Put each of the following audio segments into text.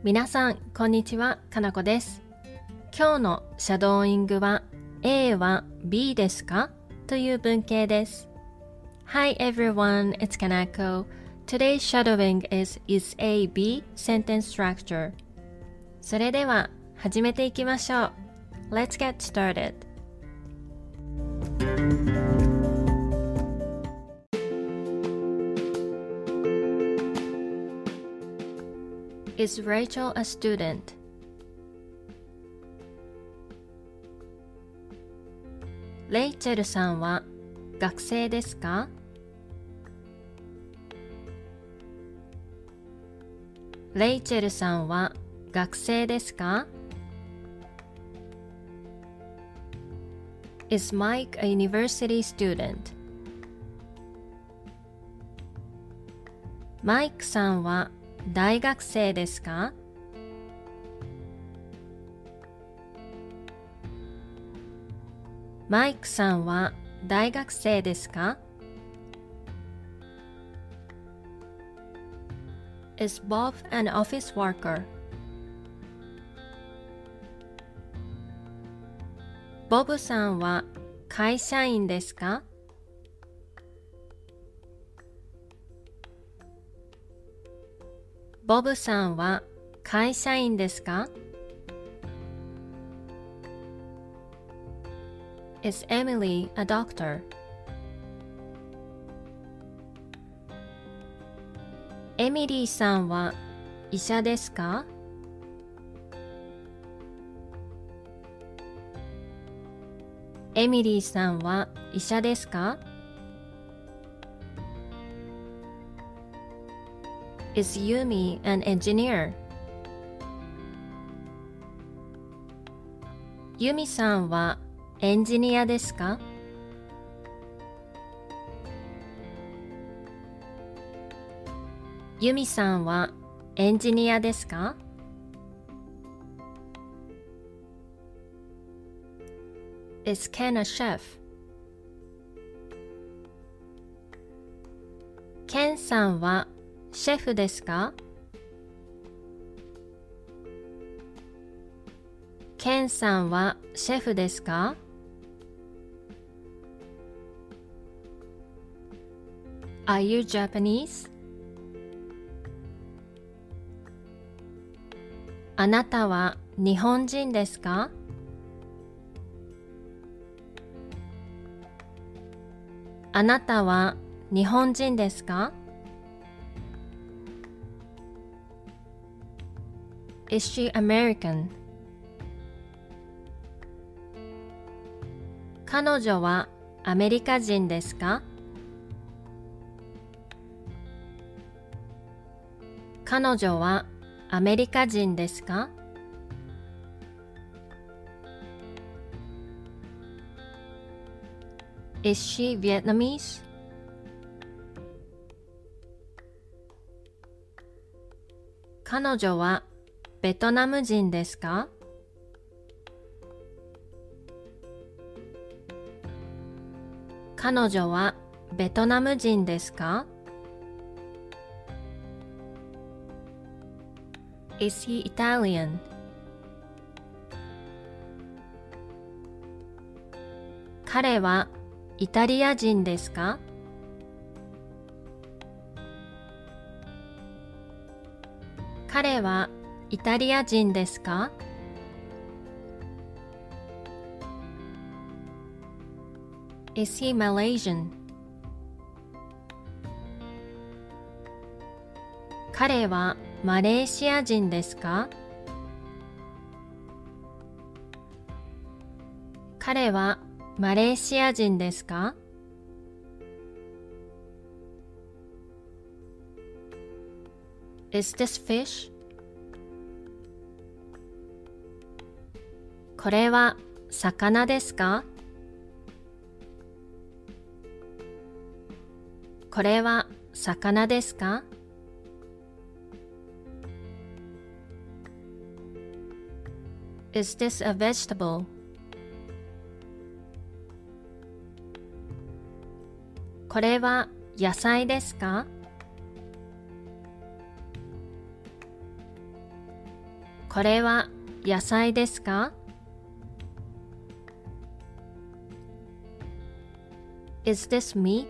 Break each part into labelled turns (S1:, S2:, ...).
S1: 皆さん、こんにちは。かなこです。今日のシャドーイングは A は B ですかという文型です。Hi everyone, it's Kanako. Today's shadowing is A B sentence structure. それでは始めていきましょう。Let's get started. Is Rachel a student? レイチェルさんは学生ですか？レイチェルさんは学生ですか？ Is Mike a university student? マイクさんは大学生ですか？マイクさんは大学生ですか？ Is Bob an office worker? ボブさんは会社員ですか？ボブさんは会社員ですか？ Is Emily a doctor? エミリーさんは医者ですか？エミリーさんは医者ですか？ Is Yumi an engineer? ユミさんはエンジニアですか？ユミさんはエンジニアですか？ Is Ken a chef? ケンさんはシェフですか？ケンさんはシェフですか？ Are you Japanese? あなたは日本人ですか？あなたは日本人ですか？ Is she American? 彼女はアメリカ人ですか？彼女はアメリカ人ですか？ Is she Vietnamese? 彼女はベトナム人ですか？彼女はベトナム人ですか？ Is he Italian? 彼はイタリア人ですか？彼はイタリア人ですか？ Is he Malaysian? 彼はマレーシア人ですか？彼はマレーシア人ですか？ Is this fish? これは魚ですか？これは魚ですか？ Is this a vegetable? これは野菜ですか？ これは野菜ですか？ Is this meat?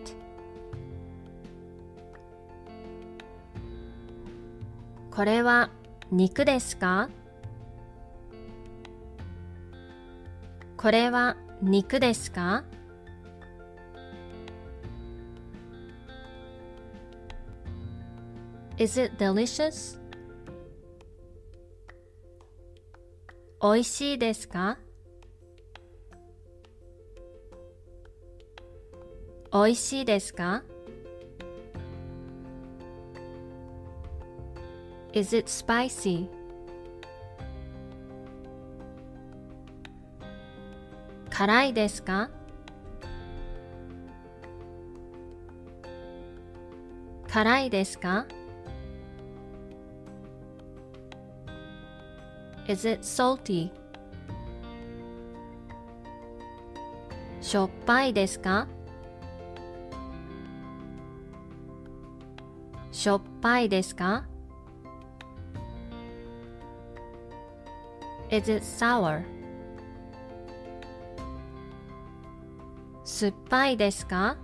S1: これは肉ですか？これは肉ですか？ Is it delicious? おいしいですか？おいしいですか？ Is it spicy? 辛いですか？辛いですか？ Is it salty? しょっぱいですか？しょっぱいですか？ Is it sour? 酸っぱいですか？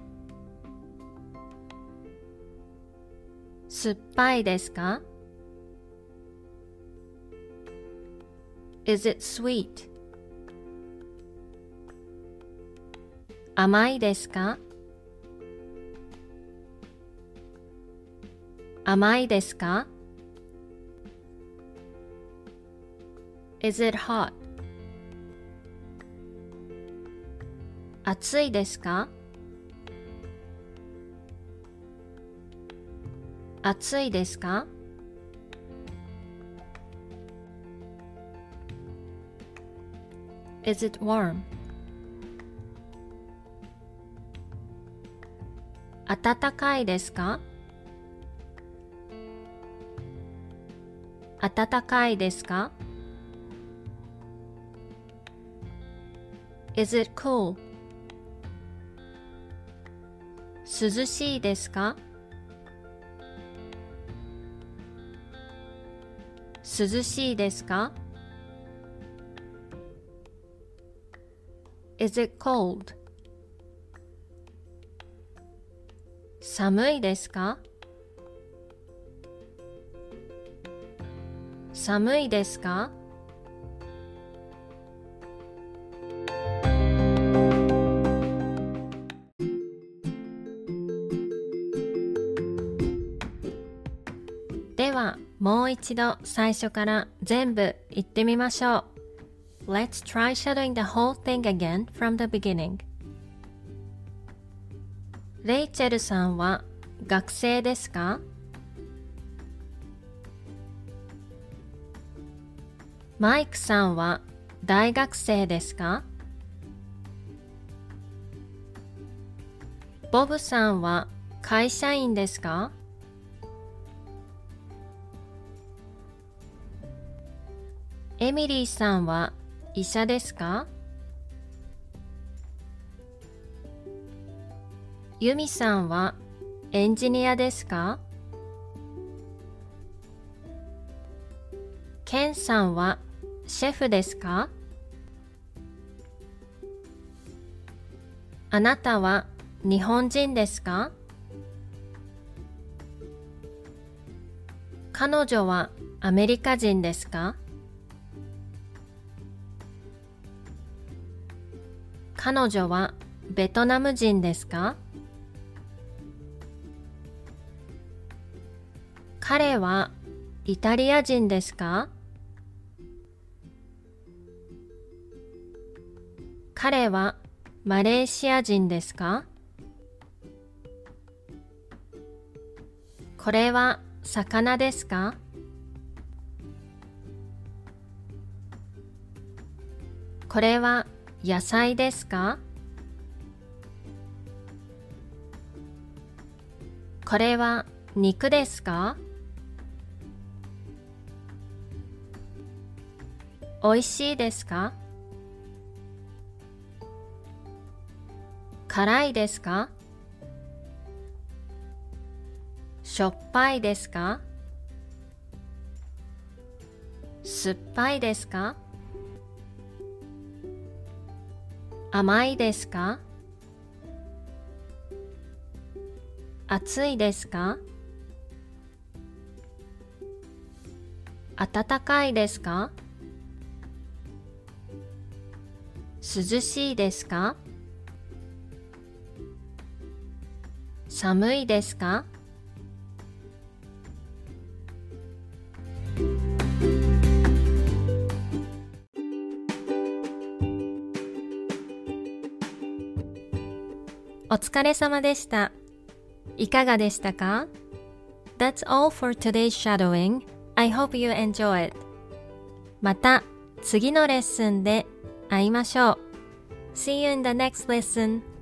S1: 酸っぱいですか？ Is it sweet? 甘いですか？甘いですか？ Is it hot? 暑いですか？暑いですか？ Is it warm? 暖かいですか？暖かいですか？ Is it cool? 涼しいですか？涼しいですか？ Is it cold? 寒いですか？寒いですか？ではもう一度最初から全部言ってみましょう。Let's try shadowing the whole thing again from the beginning. レイチェルさんは学生ですか？マイクさんは大学生ですか？ボブさんは会社員ですか？エミリーさんは医者ですか？ユミさんはエンジニアですか？ケンさんはシェフですか？あなたは日本人ですか？彼女はアメリカ人ですか？彼女はベトナム人ですか？彼はイタリア人ですか？彼はマレーシア人ですか？これは魚ですか？これは野菜ですか？これは肉ですか？おいしいですか？辛いですか？しょっぱいですか？ 酸っぱいですか？甘いですか？暑いですか？暖かいですか？涼しいですか？寒いですか？お疲れ様でした。いかがでしたか？ That's all for today's shadowing. I hope you enjoy it. また次のレッスンで会いましょう。See you in the next lesson.